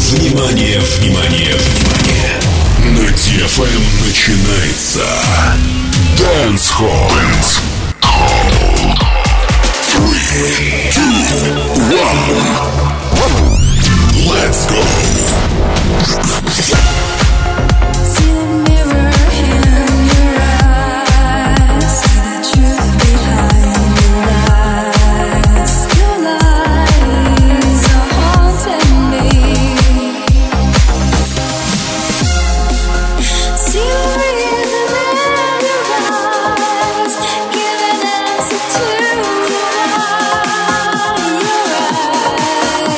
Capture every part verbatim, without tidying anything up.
Внимание, внимание, внимание! На ди эф эм начинается Dance Hall. Dance Hall. Three, two, one. Let's go. Giving answer to the lie. You're right.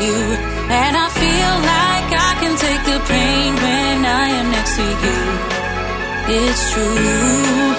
you. And I feel like I can take the pain when I am next to you. It's true.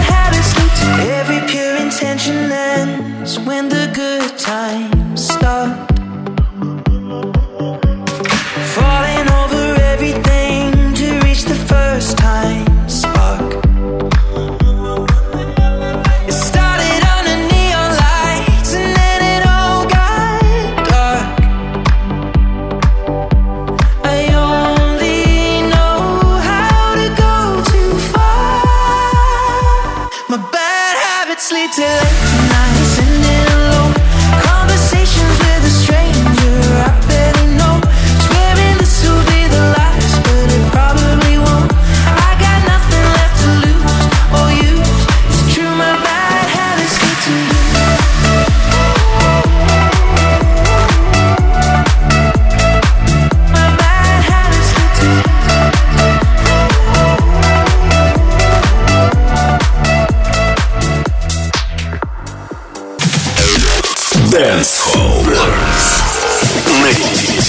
When the good times start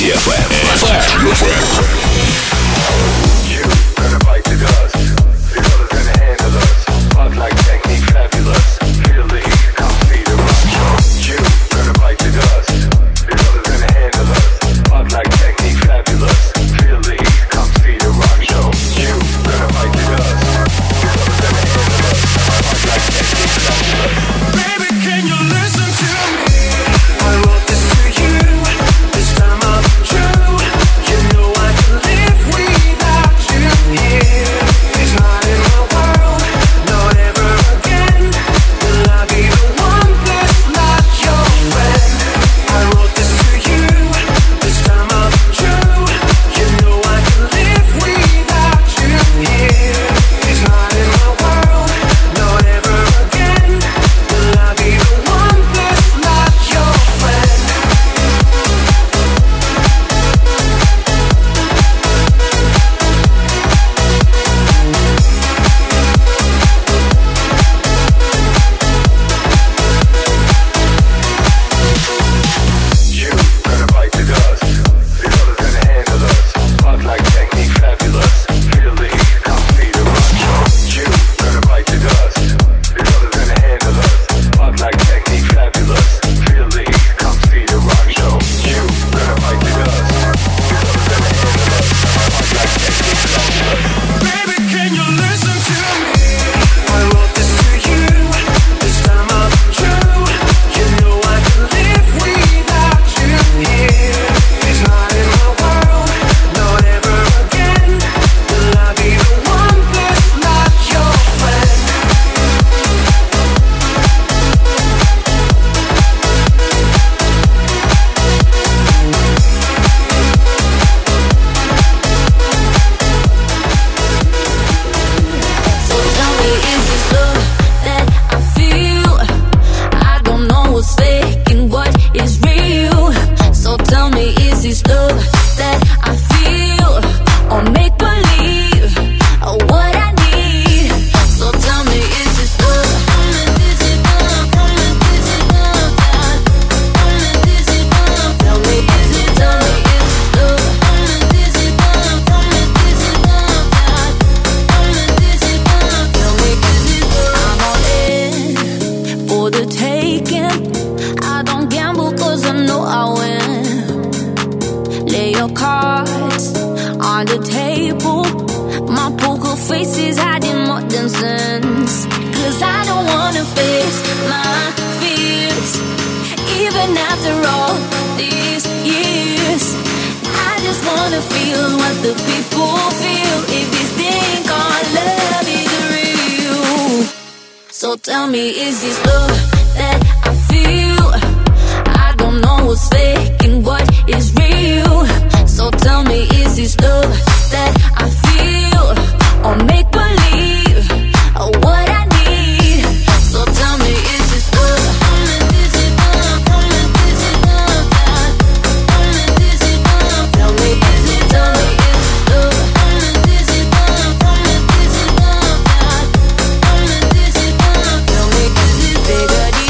ти эф эм. So tell me, is this love that I feel? I don't know what's fake and what is real. So tell me, is this love that I feel? Or make believe, or what I need? So tell me, is this love? Is it love? Is it love? Is it love? Tell me, is it? Tell me, is this love? Is it love? Is it love? Is it love? Tell me, is it bigger?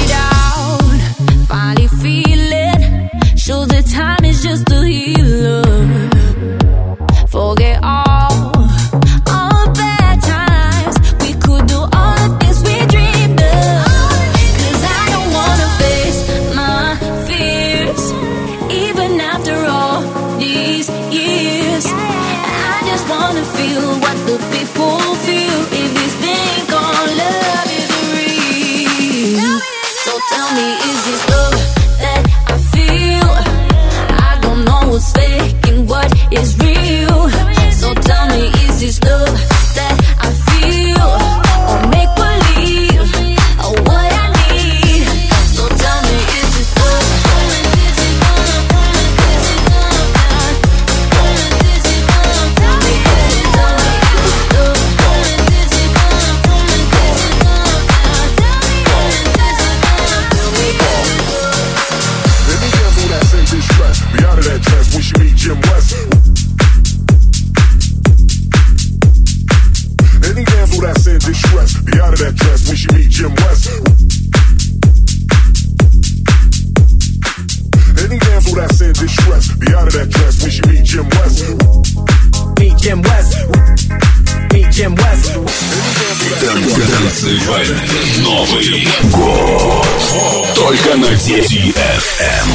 fool that's in distress. Be out of that dress when she meet Jim West. Meet Jim West. Meet Jim West. Танцевальный Новый год. Только на ди эф эм.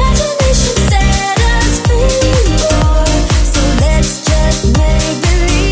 Let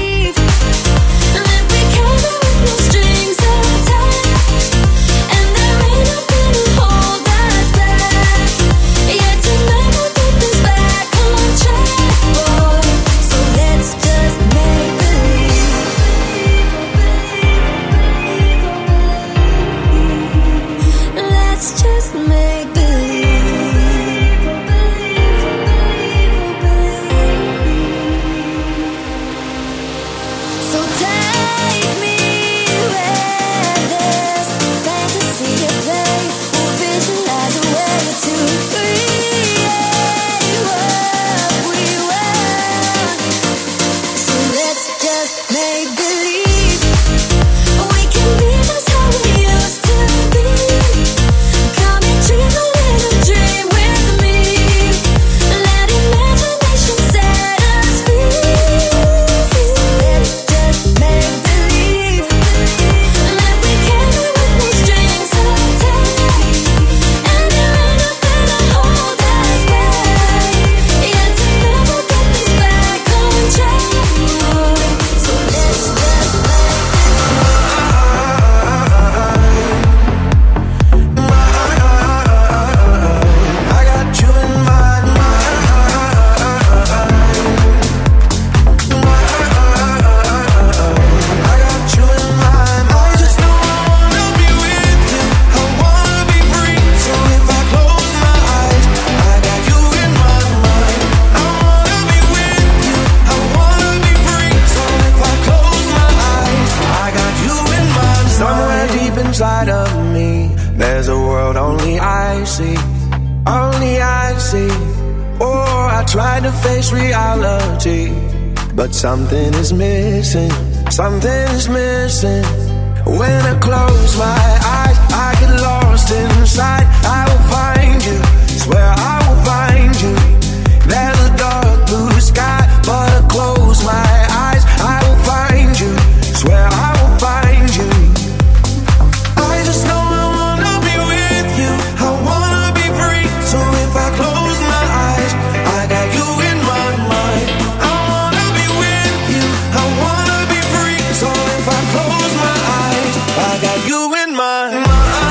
try to face reality, but something is missing, something is missing. When I close my eyes, I get lost inside. I will find you, swear I will find you. There's a dark blue sky, but I close my eyes, I will find you, swear I will find you. I just know I wanna be with you, I wanna be free. So if I close my eyes, I got you in my mind. I wanna be with you, I wanna be free. So if I close my eyes, I got you in my mind.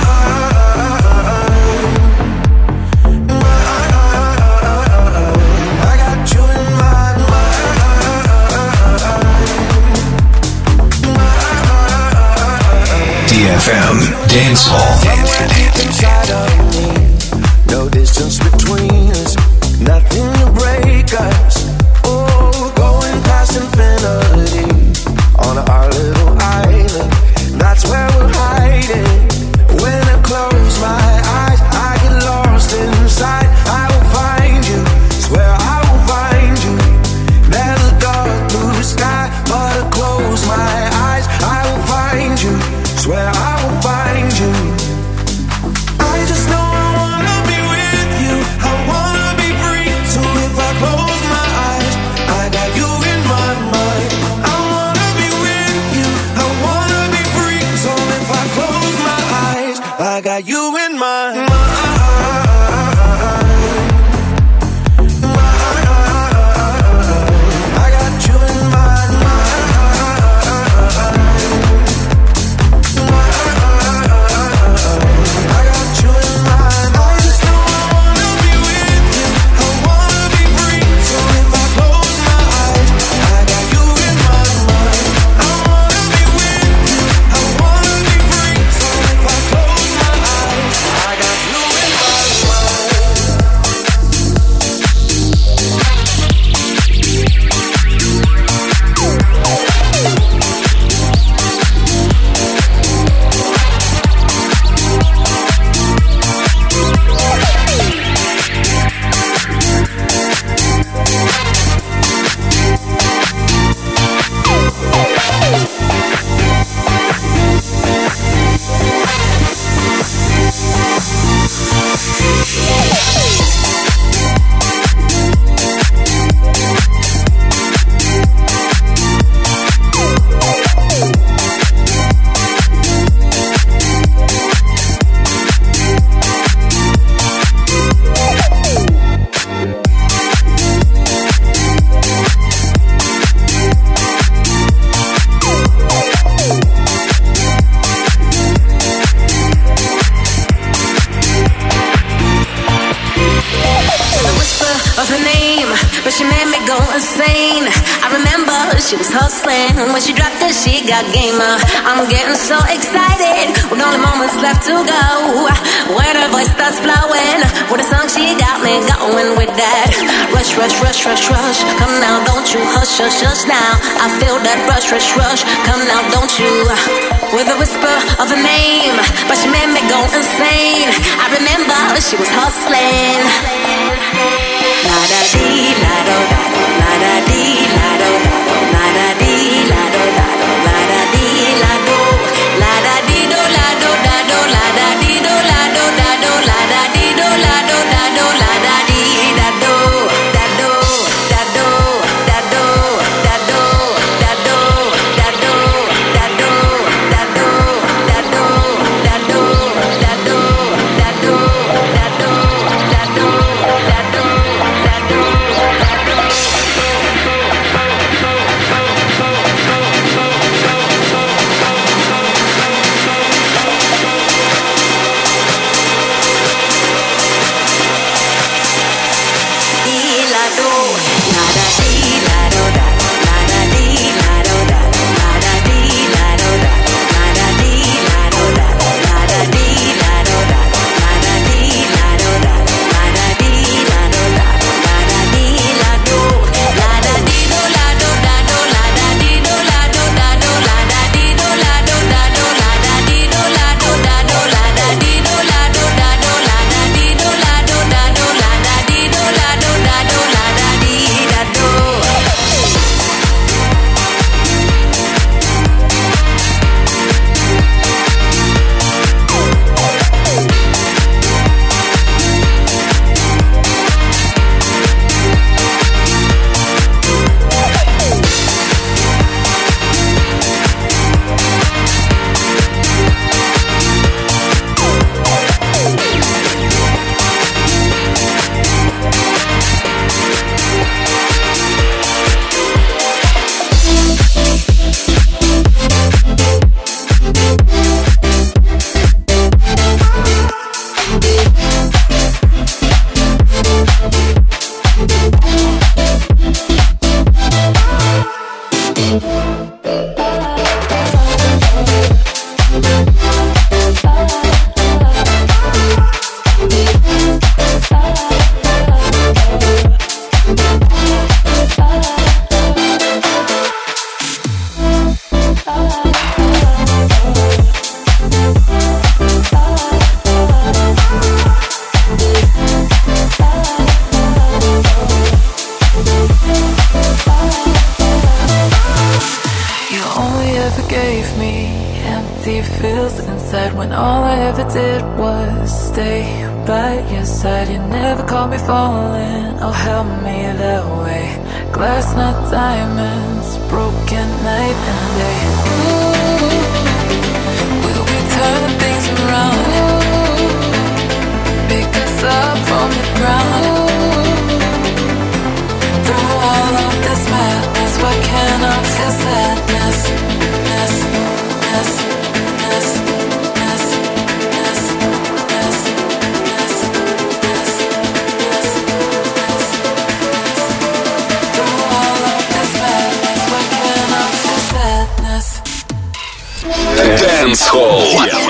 D F M Dance Hall. Inside of me, no distance between us, nothing to break us. Oh, going past infinity on our little island. That's where we're hiding. When I close my eyes, I get lost inside. I will find you, swear I will find you. There's a dark blue sky, but I close my eyes, I will find you, swear I will find you. I just know I wanna be with you, I wanna be free. So if I close my eyes, I got you in my mind. I wanna be with you, I wanna be free. So if I close my eyes, I got you in my mind. She was hustling, and when she dropped it, she got gamer. I'm getting so excited, with only moments left to go. When her voice starts flowing, with a song she got me going with that. Rush, rush, rush, rush, rush. Come now, don't you hush, hush, hush now. I feel that rush, rush, rush. Come now, don't you. With a whisper of a name, but she made me go insane. I remember she was hustling. La da dee, la do da do, la da dee, la do da do, la da dee, la do da do, la da dee, la do, la da dee do, la do da do, la da dee do, la do da do, la da dee do, la do da do, la da dee da do, da do, da do, da do, da do, da do, da do, da do, da do, da do, da do, da do, da do, da do, da do, da do, da do. you feels inside when all I ever did was stay by your side. You never called me falling, oh help me that way. Glass not diamonds, broken night and day. Ooh, will we turn things around? Pick us up from the ground. Through all of this madness, why can't I feel sadness? Ness, ness, ness, ness, ness, ness, ness, ness, ness, ness. Through all of this madness, why can't I feel sadness? Dance Hall.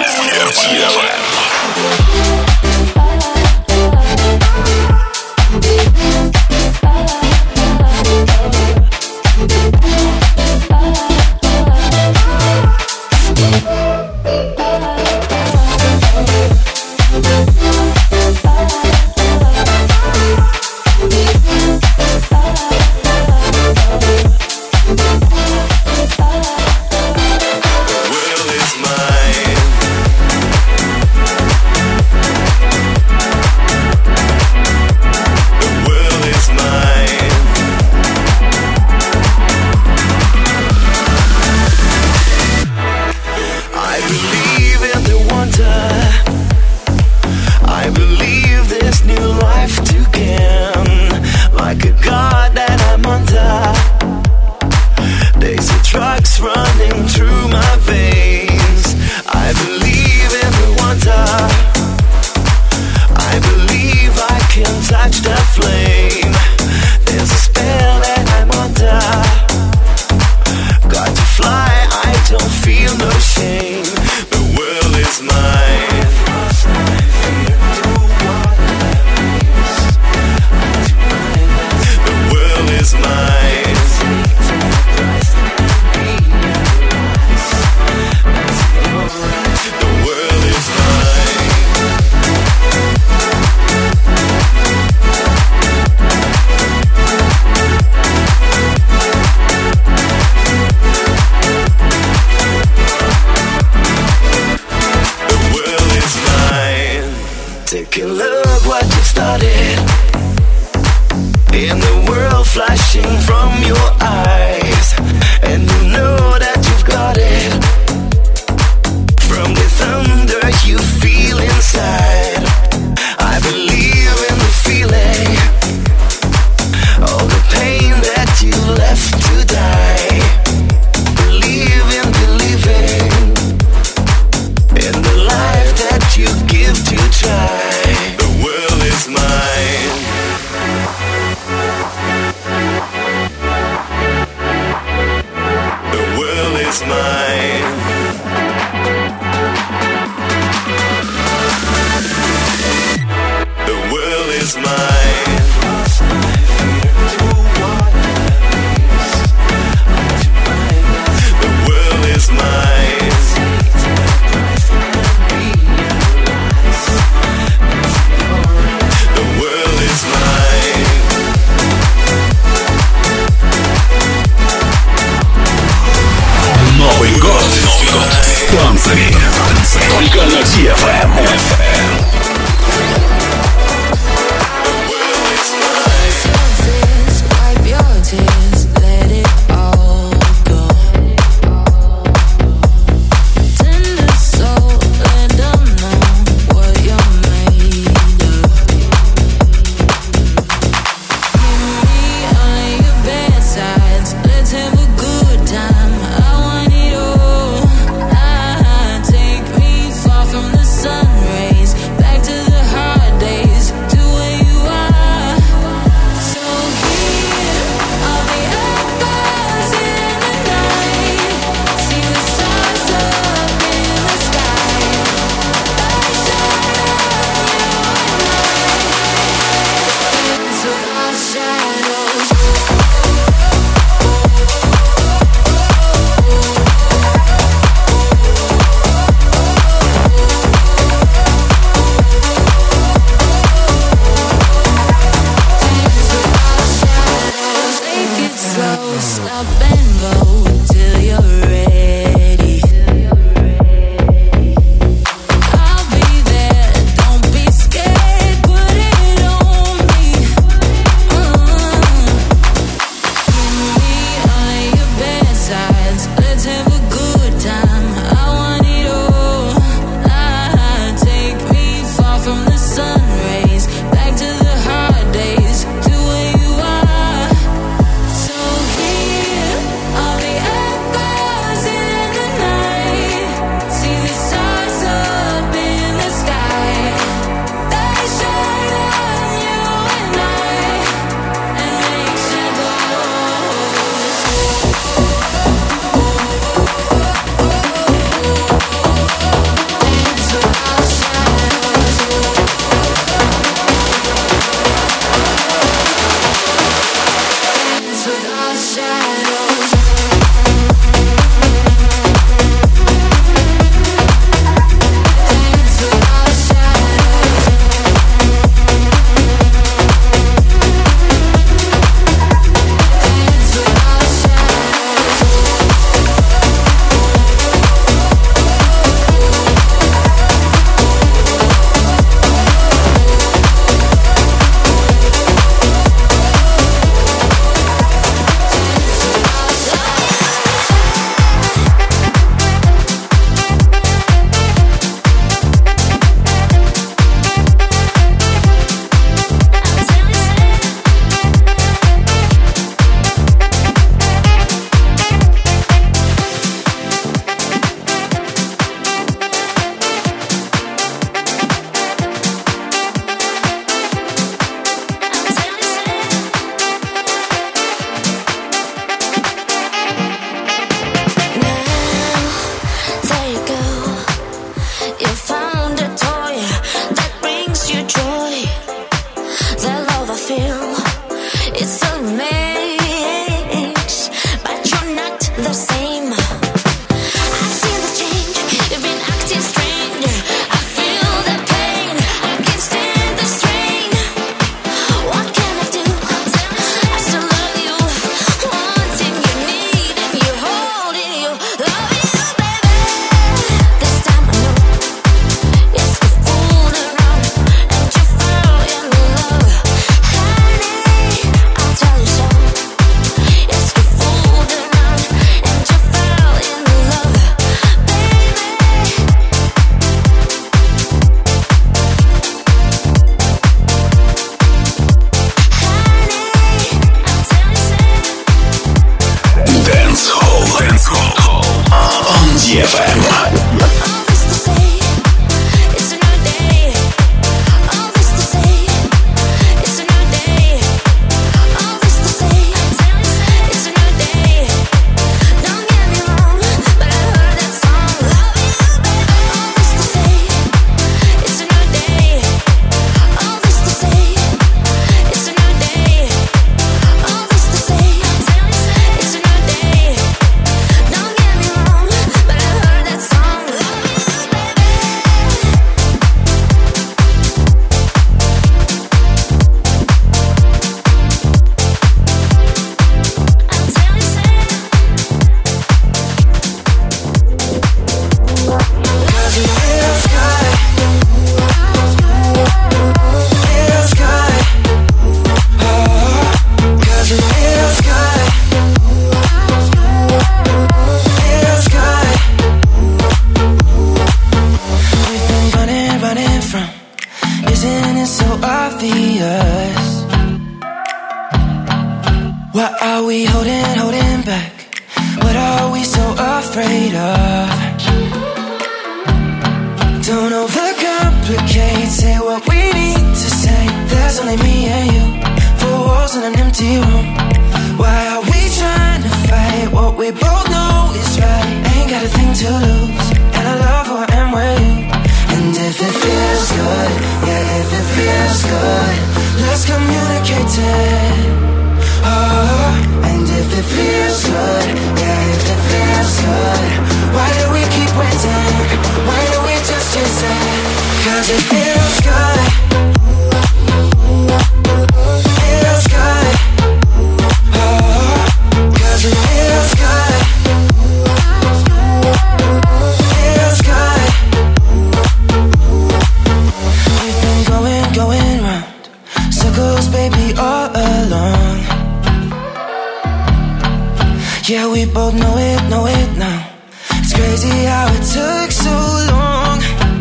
Только на ди эф эм. Stop and go till you're ready. What are we holding, holding back? What are we so afraid of? Don't overcomplicate, say what we need to say. There's only me and you, four walls in an empty room. Why are we trying to fight what we both know is right? Ain't got a thing to lose, and I love who I am with you. And if it feels good, yeah, if it feels good, let's communicate it. Oh, and if it feels good, yeah, if it feels good, why do we keep waiting? Why do we just chase it? Cause it feels good. Feels good. Oh, cause it feels good. Feels good. We've been going, going round circles, baby, all along. Yeah, we both know it, know it now. It's crazy how it took so long.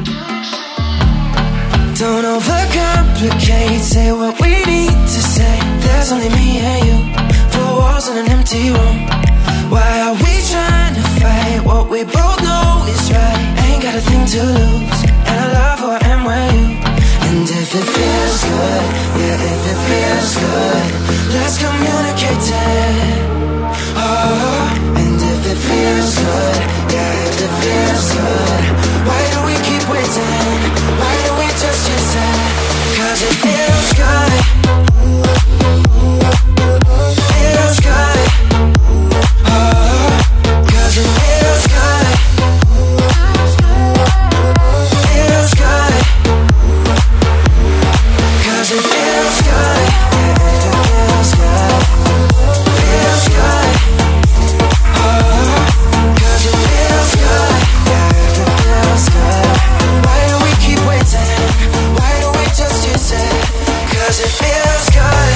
Don't overcomplicate, say what we need to say. There's only me and you, four walls in an empty room. Why are we trying to fight what we both know is right? Ain't got a thing to lose, and I love who I am with you. And if it feels good, yeah, if it feels good, let's communicate it. Oh, and if it feels good, yeah, if it feels good, why do we keep waiting? Why do we just chase it? Cause it feels good. Feels good. Oh, cause it feels good. Feels good. Cause it feels good. Yeah, it feels good. Feels good. Cause it feels good.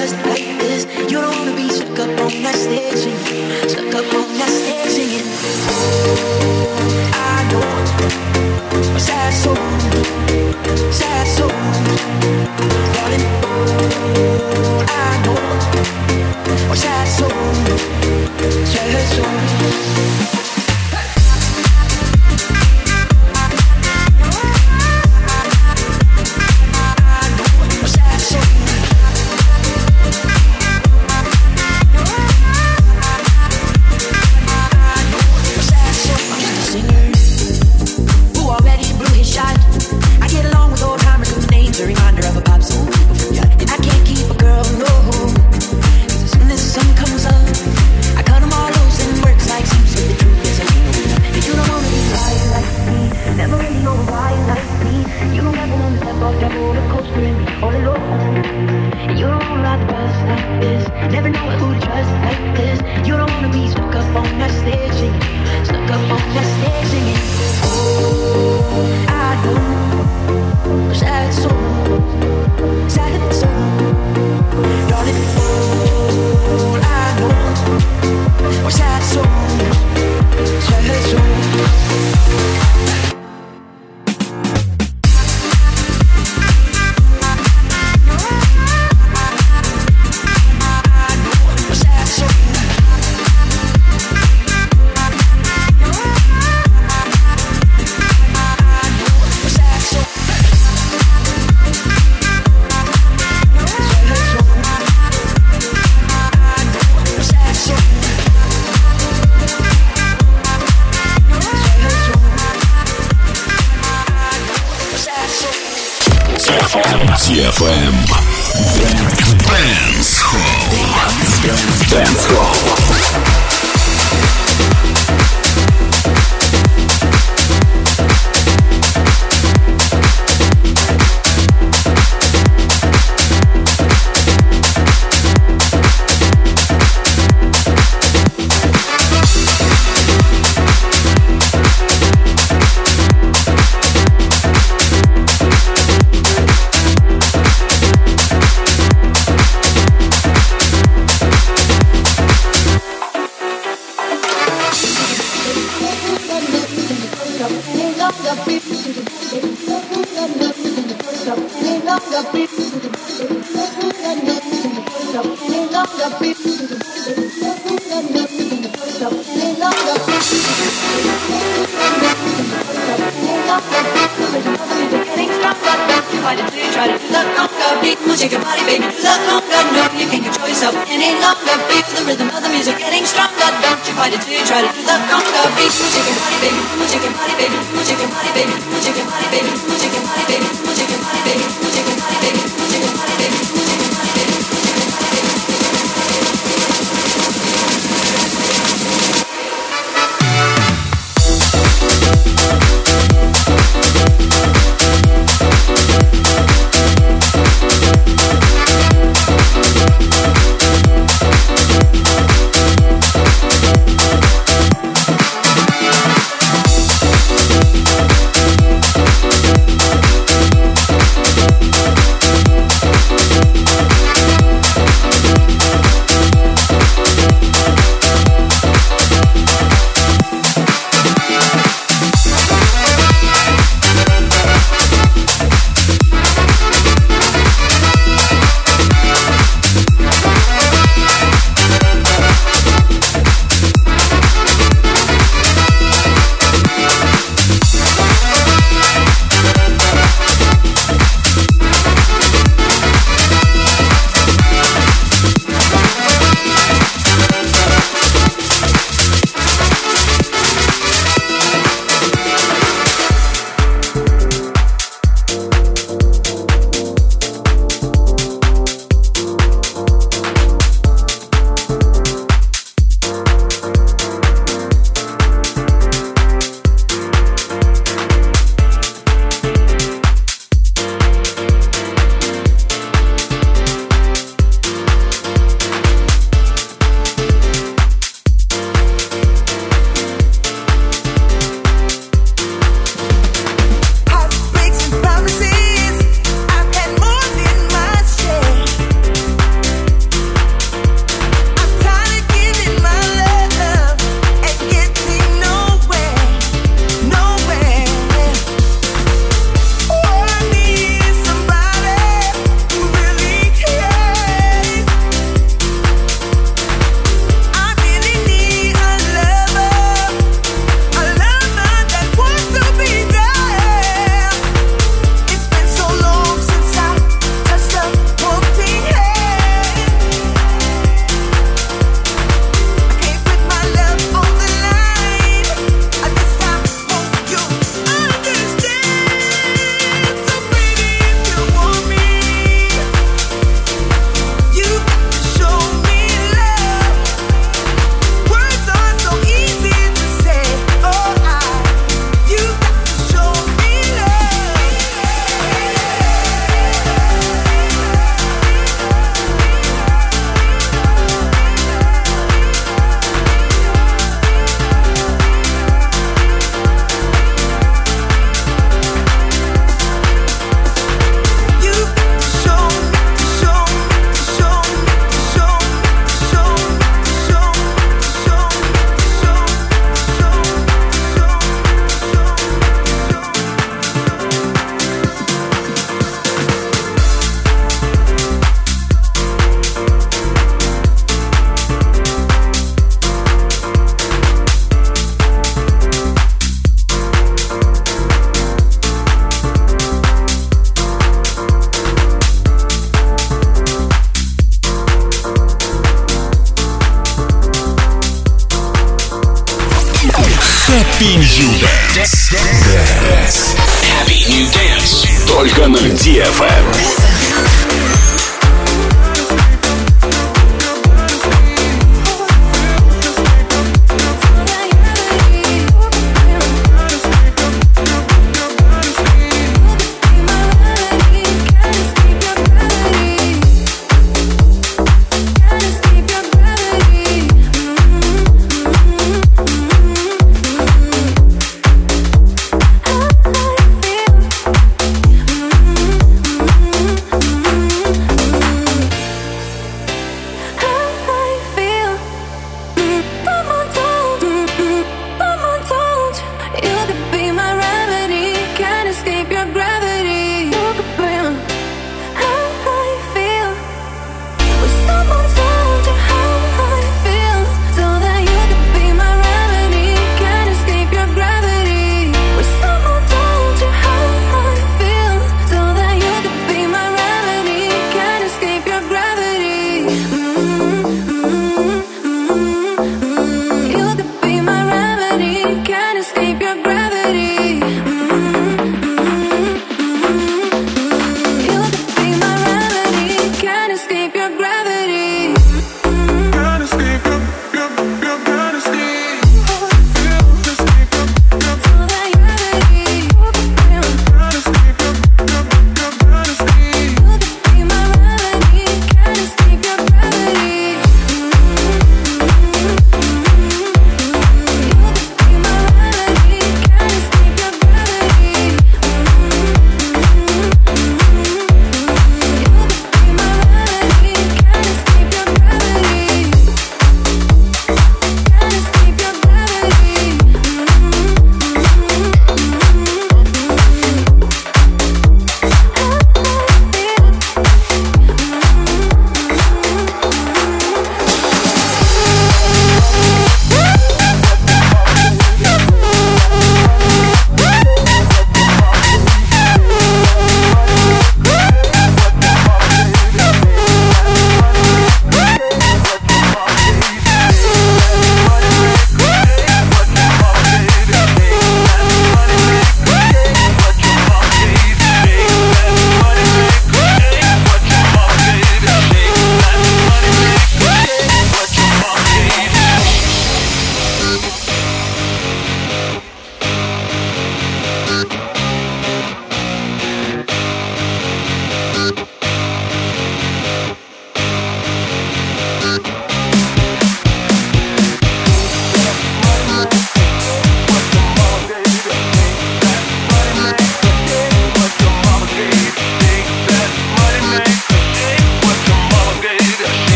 trust like this. You don't wanna be stuck up on that stage singing, stuck up on that stage singing. I know a sad soul, sad soul, darling. I know a sad soul, sad soul. ти эф эм Dance Hall. Dance Hall. Happy New Dance. Dance. Happy New Dance. Только на ди эф эм.